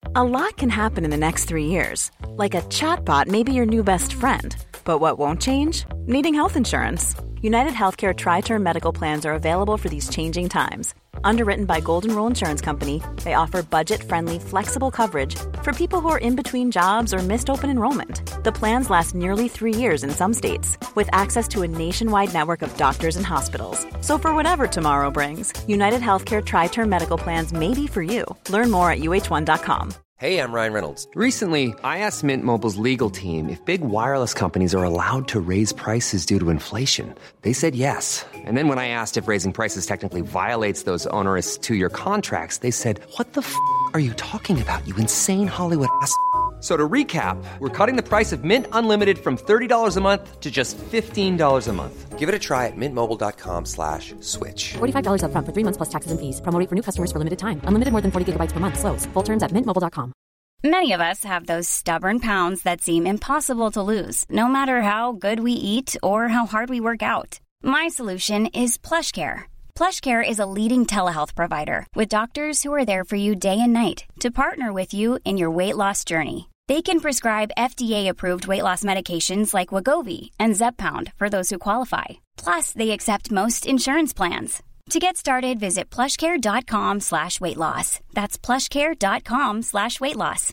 A lot can happen in the next 3 years. Like a chatbot may be your new best friend. But what won't change? Needing health insurance. United Healthcare Tri-Term Medical Plans are available for these changing times. Underwritten by Golden Rule Insurance Company, they offer budget-friendly, flexible coverage for people who are in between jobs or missed open enrollment. The plans last nearly 3 years in some states, with access to a nationwide network of doctors and hospitals. So for whatever tomorrow brings, United Healthcare Tri-Term Medical Plans may be for you. Learn more at uh1.com. Hey, I'm Ryan Reynolds. Recently, I asked Mint Mobile's legal team if big wireless companies are allowed to raise prices due to inflation. They said yes. And then when I asked if raising prices technically violates those onerous 2-year contracts, they said, "What the f*** are you talking about, you insane Hollywood ass?" So to recap, we're cutting the price of Mint Unlimited from $30 a month to just $15 a month. Give it a try at mintmobile.com/switch. $45 up front for 3 months plus taxes and fees. Promo rate for new customers for limited time. Unlimited more than 40 gigabytes per month. Slows full terms at mintmobile.com. Many of us have those stubborn pounds that seem impossible to lose, no matter how good we eat or how hard we work out. My solution is PlushCare. PlushCare is a leading telehealth provider with doctors who are there for you day and night to partner with you in your weight loss journey. They can prescribe FDA-approved weight loss medications like Wegovy and Zepbound for those who qualify. Plus, they accept most insurance plans. To get started, visit plushcare.com/weightloss. That's plushcare.com/weightloss.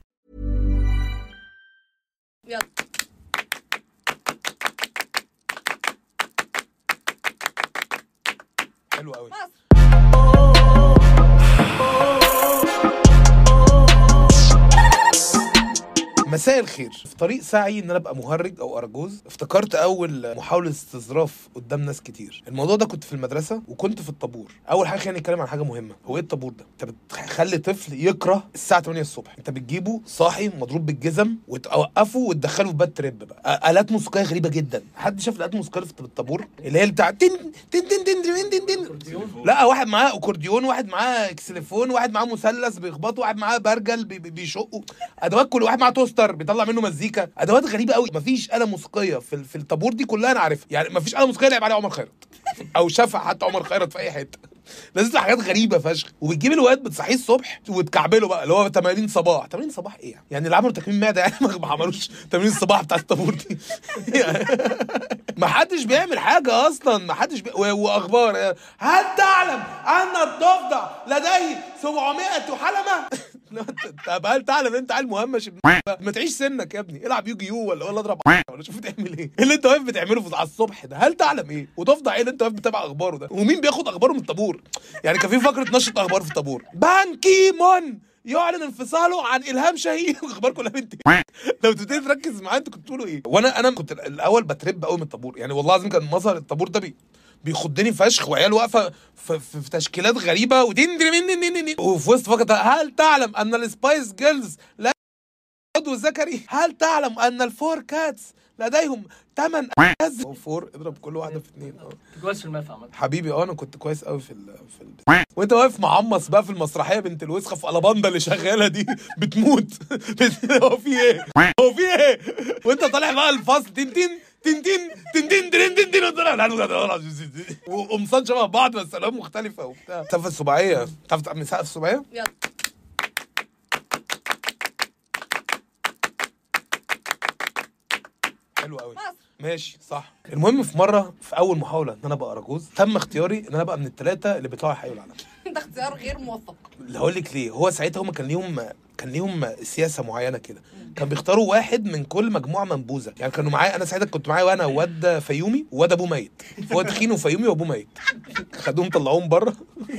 يلا حلو قوي. مساء الخير. في طريق سعي ان انا ابقى مهرج او ارجوز، افتكرت اول محاولة استظراف قدام ناس كتير. الموضوع ده كنت في المدرسة وكنت في الطابور. اول حاجة خلينا نتكلم عن حاجة مهمة. هو ايه الطابور ده؟ انت بتخلي طفل يكره الساعة 8 الصبح. انت بتجيبه صاحي مضروب بالجزم وتوقفه وتدخله في باد تريب بقى. آلات موسيقية غريبة جدا. حد شاف الآلات الموسيقية في الطابور اللي هي بتاع تن تن تن تن تن تن؟ لا، واحد معاه اكورديون، واحد معاه اكسليفون، واحد معاه مثلث بيخبطه، واحد معاه برجل بيشقه، ادوات، كل واحد معاه توستر بيطلع منه مزيكا، ادوات غريبه قوي. مفيش آلة موسيقيه في الطابور دي كلها انا عارفها. يعني مفيش آلة موسيقيه لعب عليها عمر خيرت او شافها حتى عمر خيرت في اي حته. لازم حاجات غريبه فشخ. وبتجيب الواد بتصحيه الصبح وتكعبله بقى اللي هو تمارين صباح. تمارين صباح ايه يعني اللي عملوا تكميم معده يعني ما عملوش تمارين الصباح بتاع الطابور دي. ما حدش بيعمل حاجه اصلا. ما حدش واخبار. هل تعلم ان الضفدع لديه 700 حلمه؟ طب هل تعلم انت عيل مهمش؟ ما تعيش سنك يا ابني. العب يو ولا اضرب ولا شوف تعمل ايه. اللي انت واقف بتعمله على الصبح ده هل تعلم ايه؟ وضفدع ايه اللي انت واقف بتابع اخباره ده؟ ومين بياخد اخباره من الطابور؟ يعني كان في فقره نشره اخبار في الطابور. بان كيمون يعلن انفصاله عن الهام شاهين. اخبار كلها بنت. لو تبتدي تركز معايا انتوا كنتوا بتقولوا ايه. وانا كنت الاول بترب قوي من الطابور. يعني والله العظيم كان مظهر الطابور ده بيخضني فشخ. وعيال واقفه في تشكيلات غريبه وفي وسط فقط. هل تعلم ان السبايس جيرلز لا عضو ذكري؟ هل تعلم ان الفور كاتس لديهم 8 أجهزة؟ فور اضرب كل واحده في 2. كويس في الماث عمل حبيبي. انا كنت كويس قوي في وانت واقف معمص بقى في المسرحيه بنت الوسخه في الاباندا اللي شغاله دي بتموت. هو في ايه؟ وانت طالع بقى الفصل تن تن تن تن تن تن تن تن تن وقمصان شبه بعض بس الوان مختلفه وبتاع. سقف السباعيه. تعرف تعمل سقف السباعيه؟ يلا حلو قوي. ماشي صح. المهم في مره في اول محاوله ان انا ابقى اراجوز تم اختياري ان انا ابقى من ال3 اللي بيطلعوا يحيوا العلم. ده اختيار غير موفق. اللي هقول لك ليه. هو ساعتها هم كان ليهم سياسه معينه كده. كان بيختاروا واحد من كل مجموعه منبوذه. يعني كانوا معايا انا ساعتها كنت معايا وانا واد فيومي وواد ابوه ميت. هو تخين وفيومي وابوه ميت. خدوهم طلعوهم بره.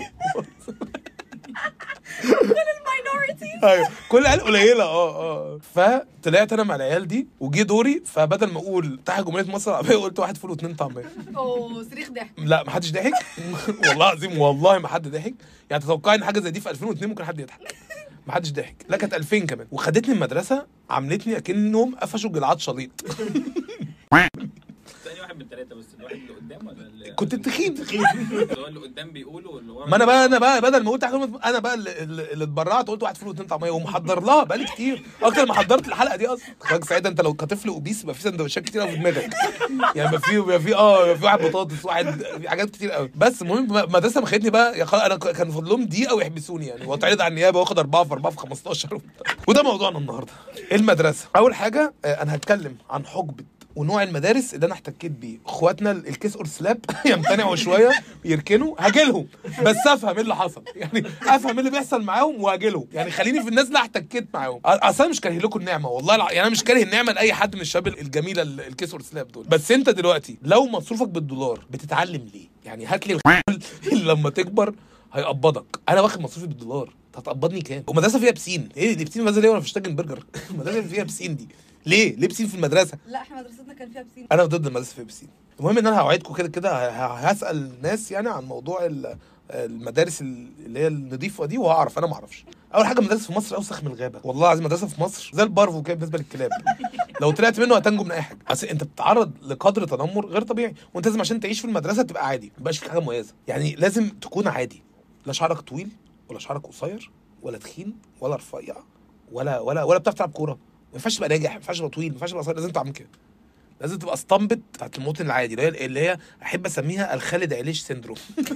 كل الماينورتيز. ايوه كل العيال قليله. فطلعت انا مع العيال دي وجي دوري. فبدل ما اقول تحت جمهوريه مصر العربيه قلت 1 فول و2 طعميه. صريخ ضحك. لا ما حدش ضحك. والله العظيم والله ما حد ضحك. يعني تتوقعي ان حاجه زي دي في 2002 ممكن حد يضحك؟ ما حدش ضحك. لا كانت 2000 كمان. وخدتني المدرسه عملتني اكنهم قفشوا جلعاد شليط. ثاني واحد من 3 بس الواحد اللي قدام ولا اللي كنت تخين اللي قدام بيقولوا واللي ورا. ما انا بقى بدل ما قلت انا بقى اللي اتبرعت قلت 1 فول و2 طعميه ومحضر لها بقالي كتير اكتر ما حضرت الحلقه دي اصلا. خلاص ساعتها انت لو كطفل اوبيس يبقى في سندوتشات كتير قوي في دماغك يعني يبقى في واحد بطاطس واحد في حاجات كتير قوي. بس المهم المدرسه ما خدتني بقى انا كان فاضلهم دقيقه ويحبسوني يعني واتعرض على النيابه واخد 4 في 4 في 15 وده موضوعنا النهارده المدرسه. اول حاجه انا هتكلم عن حقبه ونوع المدارس اللي انا احتكيت بيه. اخواتنا الكيس اور سلاب يمتنعوا شويه يركنوا هاجلهم بس افهم ايه اللي حصل يعني افهم ايه اللي بيحصل معاهم وهاجلهم يعني خليني في الناس اللي احتكيت معاهم. اصلا مش كاره لكم النعمه والله يعني انا مش كاره النعمه لاي حد من الشباب الجميله الكيس اور سلاب دول. بس انت دلوقتي لو مصروفك بالدولار بتتعلم ليه يعني؟ هات لي اللي لما تكبر هيقبضك. انا واخد مصروفي بالدولار هتقبضني كام؟ ومدرسه فيها بسين ايه دي؟ بسين مدرسه ليه وانا في شتاجن برجر؟ المدرسه فيها بسين دي ليه بسين في المدرسه؟ لا احنا مدرستنا كان فيها بسين. انا ضد المدرسه فيها بسين. المهم ان انا هوعدكم كده هسال ناس يعني عن موضوع المدارس اللي هي النظيفه دي وهعرف. انا ما اعرفش. اول حاجه مدارس في مصر اوسخ من الغابه والله العظيم. مدرسه في مصر زي البارفو كده بالنسبه للكلاب لو طلعت منه هتنجو من اي حاجه. اصل انت بتتعرض لقدر تنمر غير طبيعي وانت لازم عشان تعيش في المدرسه تبقى عادي ما يبقاش فيك حاجه مميزه يعني. لازم تكون عادي لا شعرك طويل ولا شعرك قصير ولا تخين ولا رفيع ولا بتعرف تلعب كوره. ما ينفعش تبقى ناجح، ما ينفعش تبقى طويل، ما ينفعش تبقى قصير. لازم تعمل كده. لازم تبقى اسطمبت بتاعت المواطن العادي اللي هي احب اسميها الخالد عليش سيندروم.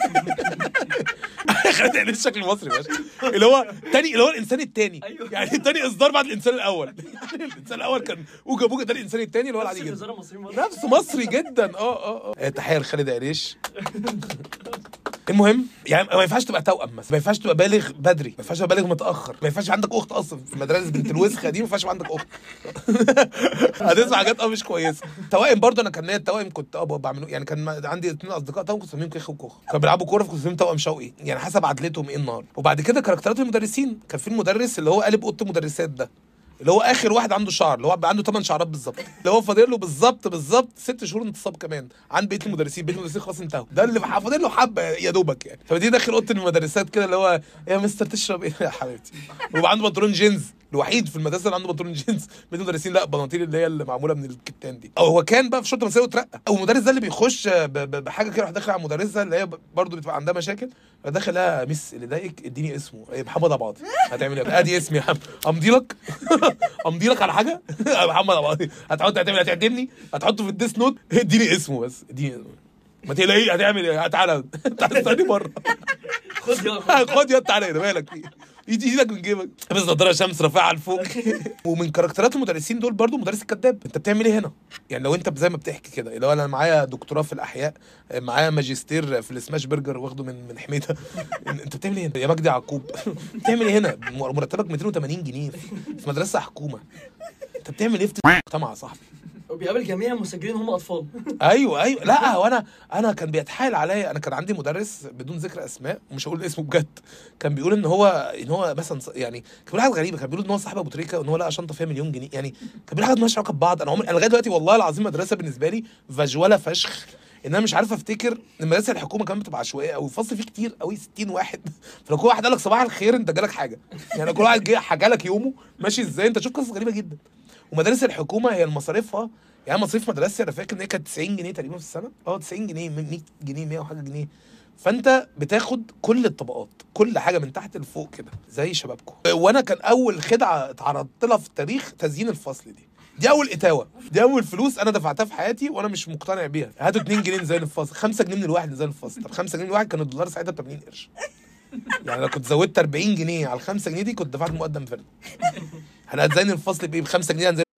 خالد عليش شكل مصري ماشي اللي هو الانسان الثاني يعني الثاني اصدار بعد الانسان الاول. الانسان الاول كان اوجا بوجا، ده الانسان الثاني اللي هو العادي جدا نفسه مصري جدا. تحيه لخالد عليش. المهم يعني ما ينفعش تبقى توأم مثلا، ما ينفعش تبقى بالغ بدري، ما ينفعش تبقى بالغ متأخر، ما ينفعش عندك اخت اصلا في المدارس بنت الوسخه دي، ما ينفعش عندك اخت. هتسمع حاجات مش كويسه. توائم برضه انا كان ليا التوائم كنت بعمله يعني. كان عندي 2 اصدقاء توأم كنت اسميهم كيخ وكوخ، كانوا بيلعبوا كوره فكنت اسميهم توأم شوقي يعني حسب عدلتهم ايه النهار. وبعد كده كاركترات المدرسين، كان في المدرس اللي هو قالب اوضه المدرسات ده اللي هو اخر واحد عنده شعر، اللي هو عنده 8 شعرات بالظبط، اللي هو فاضل له بالظبط 6 شهور انتصاب كمان عن بقيه المدرسين. بقيه المدرسين خلاص انتهوا، ده اللي فاضل له حبه يا دوبك يعني. فدي داخل اوضه المدرسات كده اللي هو يا مستر تشرب ايه يا حبيبتي، ويبقى عنده بنطلون جينز، الوحيد في المدرسه اللي عنده بنطلون جينز. بقيه المدرسين لا بناطيل اللي هي اللي معموله من الكتان دي. او هو كان بقى في شرطه مسائي وترقى. او المدرس ده اللي بيخش بحاجه كده، راح داخل على المدرسه اللي هي برضه بتبقى عندها مشاكل، داخل لها مس اللي ضايقك اديني اسمه محمد ابو عاطي. هتعمل ايه؟ ادي اسمي يا امضي لك على حاجه محمد ابو عاطي. هتعدمني هتحطه في الديس نوت، اديني اسمه بس، اديني ما تقلقيش. هتعمل ايه؟ تعالى استني بره. خد يا تعالى مالك ايدك من جيبك، بس نضاره شمس رافعه لفوق. ومن كاركترات المدرسين دول برضو مدرس الكذاب. انت بتعمل ايه هنا يعني؟ لو انت زي ما بتحكي كده، لو انا معايا دكتوراه في الاحياء، معايا ماجستير في السماش برجر واخده من حميده، انت بتعمل ايه هنا يا مجدي يعقوب؟ بتعمل ايه هنا؟ مرتبك 280 جنيه في مدرسه حكومه. انت بتعمل ايه في مجتمع يا صاحبي؟ وبيقابل جميع المسجلين هم اطفال. ايوه لا وانا انا كان بيتحايل عليا. انا كان عندي مدرس بدون ذكر اسماء ومش هقول اسمه بجد، كان بيقول ان هو مثلا يعني كان بيقول حاجه غريبه. كان بيقول ان هو صاحب ابو تريكه وان هو لقى شنطه فيها مليون جنيه يعني. كان بيقول حاجات مالهاش علاقه ببعض. انا لغايه دلوقتي والله العظيم مدرسه بالنسبه لي فجوله فشخ ان انا مش عارف افتكر. المدرسه الحكومه كمان بتبقى عشوائيه او الفصل فيه كتير قوي 60 واحد، فلو كل واحد قال لك صباح الخير انت جالك حاجه يعني. كل واحد جه حكى لك يومه ماشي ازاي. انت تشوف قصص غريبه جدا. ومدارس الحكومه هي المصاريفها يعني مصاريف مدرستي انا فاكر ان هي كانت 90 جنيه تقريبا في السنه. 90 جنيه 100 جنيه 100 وحاجه جنيه. فانت بتاخد كل الطبقات، كل حاجه من تحت لفوق كده زي شبابكم. وانا كان اول خدعه اتعرضت لها في التاريخ تزيين الفصل دي اول اتاوه، دي اول فلوس انا دفعتها في حياتي وانا مش مقتنع بيها. هاتوا 2 جنيه نزين الفصل، 5 جنيه من الواحد نزين الفصل. 5 جنيه الواحد كان الدولار ساعتها ب 80 قرش يعني. لو كنت زودت 40 جنيه على ال 5 جنيه دي كنت دفعت مقدم فرد. احنا هنزين الفصل بايه؟ ب 5 جنيه هنزين.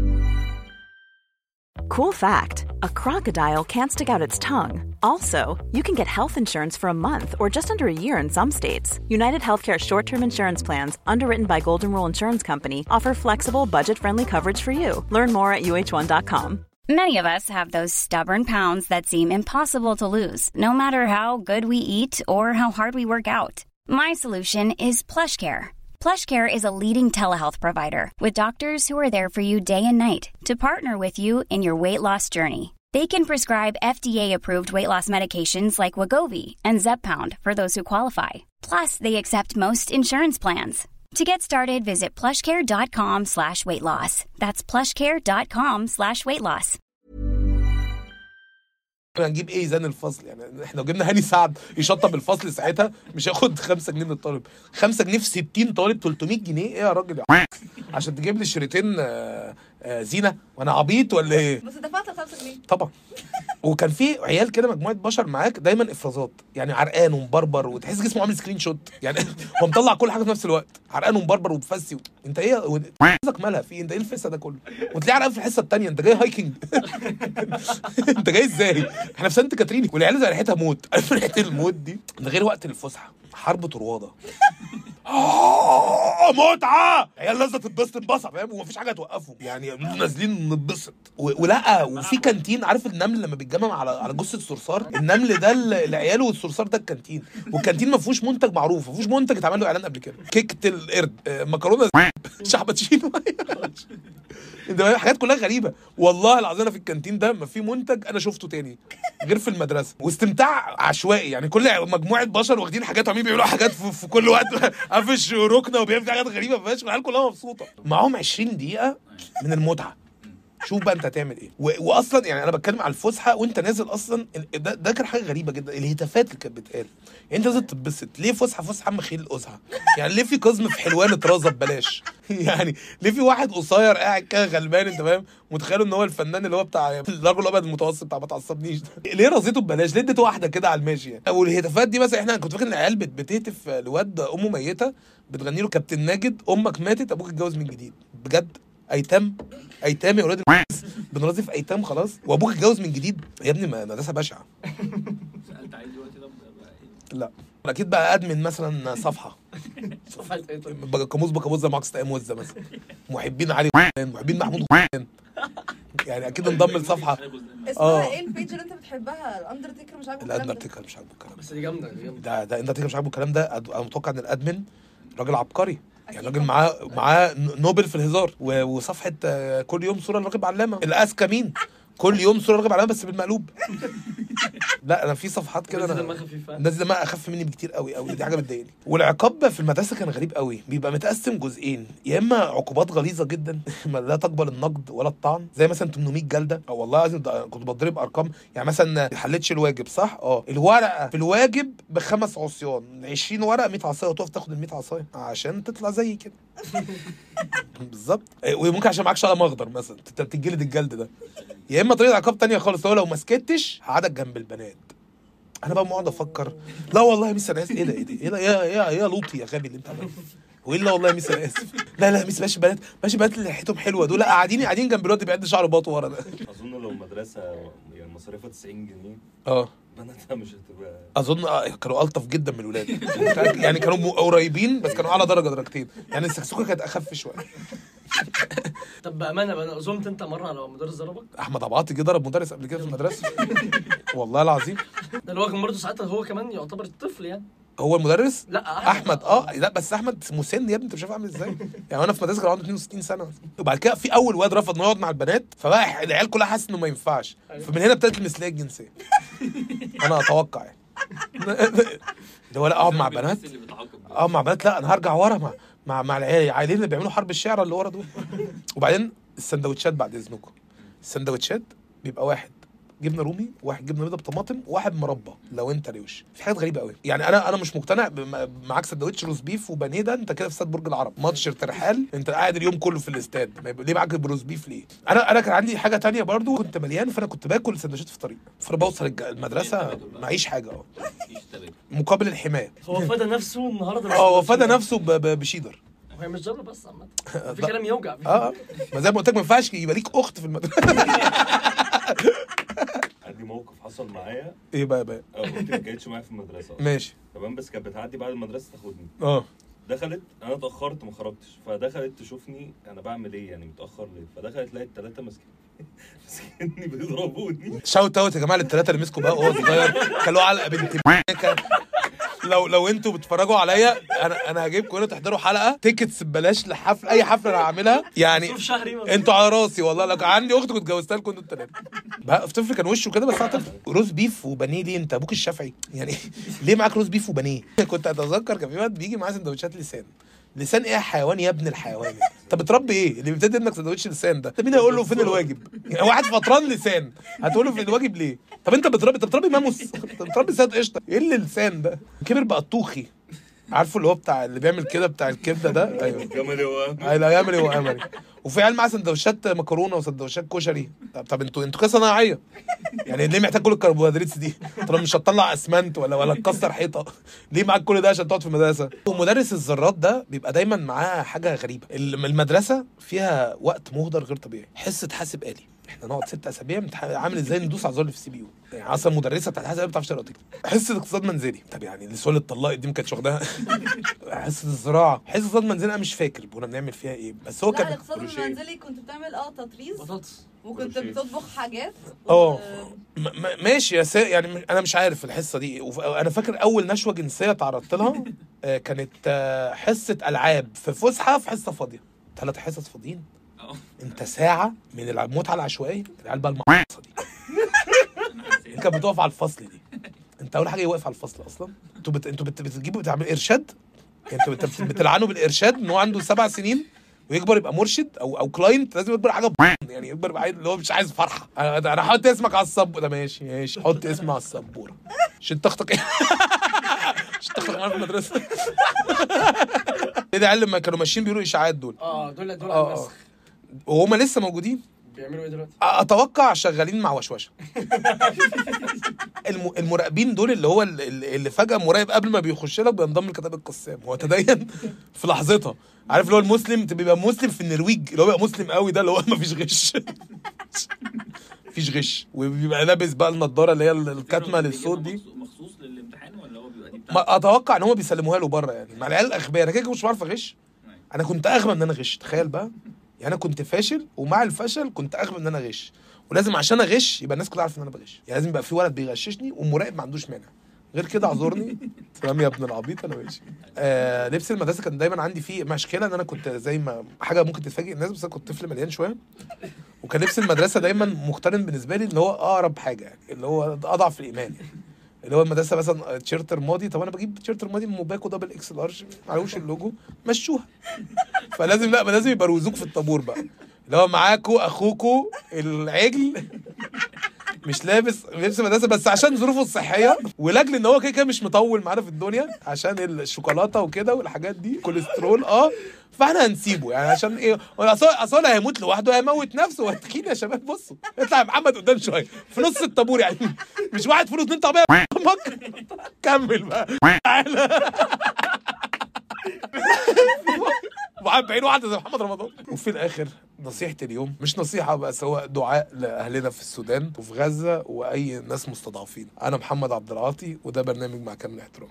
Cool fact, a crocodile can't stick out its tongue. Also, you can get health insurance for a month or just under a year in some states. United Healthcare short-term insurance plans, underwritten by Golden Rule Insurance Company, offer flexible, budget-friendly coverage for you. Learn more at uh1.com. Many of us have those stubborn pounds that seem impossible to lose, no matter how good we eat or how hard we work out. My solution is PlushCare. PlushCare is a leading telehealth provider with doctors who are there for you day and night to partner with you in your weight loss journey. They can prescribe FDA-approved weight loss medications like Wegovy and Zepbound for those who qualify. Plus, they accept most insurance plans. To get started, visit plushcare.com/weightloss. That's plushcare.com/weightloss. هنجيب ايه زان الفصل يعني؟ احنا لو جبنا هاني سعد يشطب الفصل ساعتها مش هياخد 5 جنيه من الطالب. 5 جنيه في 60 طالب 300 جنيه ايه يا راجل عشان تجيب لي شريطين زينه وانا عبيط ولا ايه؟ بس دفعت 5 جنيه طبعا. وكان في عيال كده مجموعه بشر معاك دايما افرازات، يعني عرقان ومبربر وتحس جسمه عامل سكرين شوت، يعني هو مطلع كل حاجه في نفس الوقت، عرقان ومبربر ومفسي انت ايه قصدك مالها في انت ايه الفسه ده كله؟ وتلاقي عرقان في الحصه الثانيه، انت جاي هايكنج انت جاي ازاي؟ احنا في سانت كاترين والعيال زي ريحتها موت. عارف ريحه الموت دي؟ ده غير وقت الفسحه حرب طرواده متعه، عيال لازم تتبسط انبسط فاهم، ومفيش حاجه توقفهم يعني نازلين نتبسط ولا. وفي كانتين، عارف النمل لما بيتجمع على جثه صرصار، النمل ده العيال والصرصار ده الكانتين، والكانتين ما فيهوش منتج معروف، ما فيهوش منتج اتعمل له اعلان قبل كده. كيكه القرد، مكرونه شعبتشينو انت حاجات كلها غريبه والله العظيم. انا في الكانتين ده ما في منتج انا شفته تاني غير في المدرسه، واستمتاع عشوائي يعني، كل مجموعه بشر واخدين حاجات وعمالين بيعملوا حاجات في كل وقت قافش ركنه وبيعمل حاجات غريبه فشخ، والعيال كلها مبسوطه. معاهم 20 دقيقه من المتعه. شوف بقى انت هتعمل ايه. واصلا يعني انا بتكلم على الفسحه وانت نازل اصلا، ده كان حاجه غريبه جدا، الهتافات اللي كانت بتقال. يعني انت نازل تتبسط ليه؟ فسحه عم خيل القزحه يعني، ليه في قزم في حلوان اترازه ببلاش يعني ليه في واحد قصير قاعد كده غلبان انت فاهم، متخيل ان هو الفنان اللي هو بتاع الرجل الابيض المتوسط بتاع ما تعصبنيش ده، ليه رزيته ببلاش؟ ليه اديته واحده كده على الماشي يعني؟ والهتافات دي مثلا احنا كنت فاكر ان العيال بتهتف لواد امه ميته، بتغني له كابتن ماجد امك ماتت ابوك اتجوز من جديد. بجد ايتام يا ولاد بنرازف ايتام خلاص، وابوك اتجوز من جديد يا ابني، مدرسه بشعه. سالت عليه دلوقتي ده لا اكيد بقى ادمن مثلا صفحه ايه طيب؟ بكابوس زي معاكس تقام وزه مثلا، محبين علي محبين محمود يعني اكيد انضم لصفحه. اسمها ايه البيج اللي انت بتحبها؟ الاندرتيكر مش عاجبه الكلام ده؟ الاندرتيكر مش عاجبه الكلام بس دي جامده ده اندرتيكر مش عاجبه الكلام ده. انا متوقع ان الادمن راجل عبقري يعني، راجل معاه نوبل في الهزار، وصفحه كل يوم صوره لراغب علامه. الاذكى مين؟ كل يوم صوره راغب علامه بس بالمقلوب. لا انا في صفحات كده الناس دماغها اخف مني بكتير قوي، دي حاجه بتضايقني. والعقاب في المدرسه كان غريب قوي، بيبقى متقسم جزئين، يا اما عقوبات غليظه جدا لا تقبل النقد ولا الطعن، زي مثلا 800 جلده، او والله لازم كنت بضرب ارقام يعني، مثلا ما حلتش الواجب صح، الورقه في الواجب ب5 عصيان، 20 ورقه 100 عصايه، وتقف تاخد ال 100 عصايه عشان تطلع زي كده بالظبط. وممكن عشان معاك شقه مخضر مثلا تتجلد الجلد ده. يا اما طريقه عقاب تانية خالص، هو لو ما سكتش هقعدك جنب البنات. انا بقى بقعد افكر، لا والله يا ميس انا اسف، ايه ده يا لوطي يا غبي اللي انت عملته، والا والله يا ميس انا اسف. لا ميس ماشي بنات اللي ريحتهم حلوه دول قاعدين جنب الواد بيعد شعر باطه ورا ده. اظن لو مدرسه يعني مصاريفها 90 جنيه بناتها مش هتبقى، اظن كانوا الطف جدا من الولاد يعني كانوا قريبين بس كانوا على درجتين يعني، السكسوكه كانت اخف شويه. طب بامانه انا اظنت انت مره على مدرس ضربك؟ احمد عبعاطي جه ضرب مدرس قبل كده في المدرسه والله العظيم. ده اللي هو كان برضه ساعتها هو كمان يعتبر الطفل يعني. هو المدرس؟ لا احمد لا بس احمد مسن يا ابني، انت مش عارف عامل ازاي يعني. انا في مدرسه كان عنده 62 سنه، وبعد كده في اول واد رفض انه يقعد مع البنات، فبقى العيال كلها حاسه انه ما ينفعش، فمن هنا ابتدت المثليه الجنسيه. انا اتوقع يعني ده ولا اقعد مع بنات مع بنات، لا انا هرجع ورا مع العيالين اللي بيعملوا حرب الشعر اللي ورا دول. وبعدين السندوتشات بعد اذنكم، السندوتشات بيبقى واحد جبنه رومي، واحد جبنه بيضه بطماطم، وواحد مربى لو انت روش. في حاجات غريبه قوي يعني، انا مش مقتنع معاك سندوتش روز بيف وبانيه ده، انت كده في استاد برج العرب ماتش ترحال، انت قاعد اليوم كله في الاستاد، ليه معاك الروز بيف ليه؟ انا كان عندي حاجه تانية برضو، كنت مليان فانا كنت باكل سندوتشات في الطريق، فبوصل المدرسه معيش حاجه مقابل الحمايه. هو فدى نفسه النهارده، هو فدى نفسه بشيدر. هي مش ضربه بس عامه، في كلام يوجع ما زي ما قلت لك ما ينفعش يبقى ليك اخت في المدرسه. عندي موقف حصل معايا. ايه بقى اختي ما كانتش معايا في المدرسه ماشي تمام، بس كانت بتعدي بعد المدرسه تاخدني. دخلت، انا اتاخرت ما خرجتش، فدخلت تشوفني انا بعمل ايه يعني متاخر ليه، فدخلت لقيت 3 ماسكيني بيضربوني. شاوت اوت يا جماعه لل3 اللي مسكوا بقى وهو صغير، كلوا علقه بنت لو انتوا بتتفرجوا عليا انا هجيبكم هنا تحضروا حلقه تيكتس ببلاش لحفل، اي حفله انا هعملها يعني، انتوا على راسي والله. لو كان عندي اخت كنت اتجوزتها لكم انتوا الثلاثه. بقى طفل كان وشه كده، بس طفل. روز بيف وبانيه ليه؟ انت ابوك الشافعي يعني ليه معاك روز بيف وبانيه؟ كنت اتذكر كان في وقت بيجي معاه سندوتشات لسان، لسان ايه يا حيوان يا ابن الحيوان؟ انت بتربي ايه اللي بيبتدي ابنك سندوتش لسان ده؟ مين هيقول له فين الواجب؟ يعني واحد فطران لسان هتقول له فين الواجب ليه؟ طب انت بتربي ماموس؟ انت بتربي سيد قشطه؟ ايه اللي لسان ده؟ كبر بقى الطوخي، عارفه اللي هو بتاع اللي بيعمل كده بتاع الكبده ده. ايوه جملي وامري. ايوه جملي وامري. وفي عيال معاه سندوتشات مكرونه وسندوتشات كشري. طب انتوا كده صناعيه يعني ليه محتاج كل الكربوهيدرات دي؟ طب مش هتطلع اسمنت ولا تكسر حيطه؟ ليه معاك كل ده عشان تقعد في المدرسه؟ ومدرس الذرات ده بيبقى دايما معاه حاجه غريبه. المدرسه فيها وقت مهدر غير طبيعي. حصه حاسب آلي احنا نقعد 6 اسابيع عامل ازاي ندوس على الزر في الCPU. يعني اصلا مدرسه بتاعت حاسب ما بتعرفش تقرا وتكتب. حصه اقتصاد منزلي، طب يعني السؤال اتطلقت دي ما كانتش واخداها. حصه الزراعه، حصه اقتصاد منزلي انا مش فاكر كنا بنعمل فيها ايه، بس هو كان الاقتصاد المنزلي كنت بتعمل تطريز بطاطس وكنت بتطبخ حاجات ماشي يعني انا مش عارف الحصه دي. انا فاكر اول نشوه جنسيه تعرضت لها كانت حصه العاب في فسحه في حصه فاضيه. 3 حصص فاضيين انت ساعه من المتعه العشوائيه. العيال بقى المقصه دي كانت بتقف على الفصل دي. انت اول حاجه واقف على الفصل اصلا. انتوا بتجيبوا بتعمل ارشاد. انتوا بتلعنوا بالارشاد ان هو عنده 7 سنين ويكبر يبقى مرشد او كلاينت. لازم يكبر حاجه يعني يكبر يبقى اللي هو مش عايز فرحه. انا هحط اسمك على السبوره ده. ماشي حط اسمي على السبوره. عشان تخطق ايه؟ عشان تخطق معايا في المدرسه. ايه ده؟ علم ما كانوا ماشيين بيقولوا اشاعات دول. دول على النسخ وهم لسه موجودين. بيعملوا ايه دلوقتي؟ اتوقع شغالين مع وشوشه. المراقبين دول اللي هو اللي فجاه مراقب قبل ما بيخش لك بينضم لكتاب القسام. هو تدين في لحظتها. عارف اللي هو المسلم بيبقى مسلم في النرويج اللي هو بيبقى مسلم قوي ده اللي هو ما فيش غش. مفيش غش. وبيبقى لابس بقى النضاره اللي هي الكاتمه للصوت دي مخصوص للامتحان ولا هو بيبقى دي ما اتوقع ان هم بيسلموها له بره يعني مع العيال الاغبياء. انا كده مش بعرف اغش. انا كنت اغبى ان انا اغش. تخيل بقى يعني انا كنت فاشل ومع الفشل كنت اغبى ان انا اغش. ولازم عشان اغش يبقى الناس كلها عارفه ان انا بغش. يعني لازم يبقى في ولد بيغششني والمراقب ما عندوش مانع. غير كده اعذرني. سلام يا ابن العبيط انا ماشي. لبس المدرسه كان دايما عندي فيه مشكله ان انا كنت زي ما حاجه ممكن تتفاجئ الناس بس انا كنت طفل مليان شويه. وكان لبس المدرسه دايما مقترن بالنسبه لي اللي هو اقرب حاجه يعني اللي هو اضعف الايمان يعني. اللي هو المدرسه مثلا تيشيرت رمادي. طب انا بجيب تيشيرت رمادي من موباكو دبل اكس لارج معلوش اللوجو مشوها. لازم يبقى روزوك في الطابور بقى اللي هو معاكو اخوكو العجل مش لابس لبس مدرسه بس عشان ظروفه الصحيه ولاجل ان هو كده مش مطول معانا في الدنيا عشان الشوكولاته وكده والحاجات دي كوليسترول فاحنا هنسيبه يعني عشان ايه؟ اصل هيموت لوحده هيموت نفسه. وهتخين يا شباب بصوا اطلع يا محمد قدام شويه في نص الطابور يعني مش واحد فلوس 2 طعميه كمل بقى تعالى وعم بعين واحده زي محمد رمضان. وفي الاخر نصيحه اليوم مش نصيحه بس هو دعاء لاهلنا في السودان وفي غزه واي ناس مستضعفين. انا محمد عبد العاطي وده برنامج مع كامل احترامي.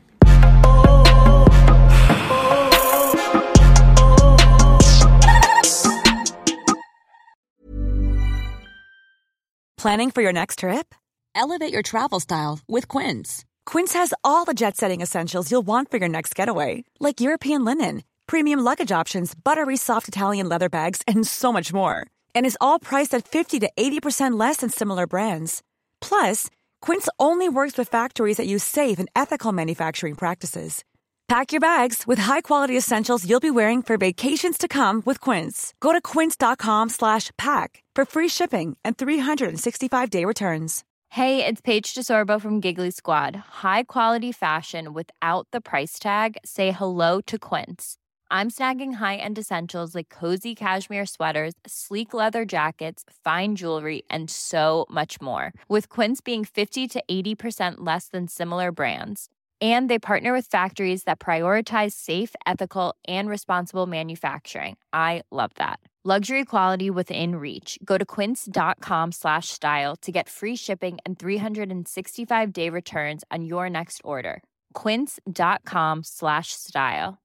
Planning for your next trip? Elevate your travel style with Quince. Quince has all the jet-setting essentials you'll want for your next getaway, like European linen, premium luggage options, buttery soft Italian leather bags, and so much more. And is all priced at 50 to 80% less than similar brands. Plus, Quince only works with factories that use safe and ethical manufacturing practices. Pack your bags with high-quality essentials you'll be wearing for vacations to come with Quince. Go to quince.com/pack for free shipping and 365-day returns. Hey, it's Paige DeSorbo from Giggly Squad. High quality fashion without the price tag. Say hello to Quince. I'm snagging high-end essentials like cozy cashmere sweaters, sleek leather jackets, fine jewelry, and so much more. With Quince being 50 to 80% less than similar brands. And they partner with factories that prioritize safe, ethical, and responsible manufacturing. I love that. Luxury quality within reach. Go to quince.com/style to get free shipping and 365-day returns on your next order. Quince.com/style.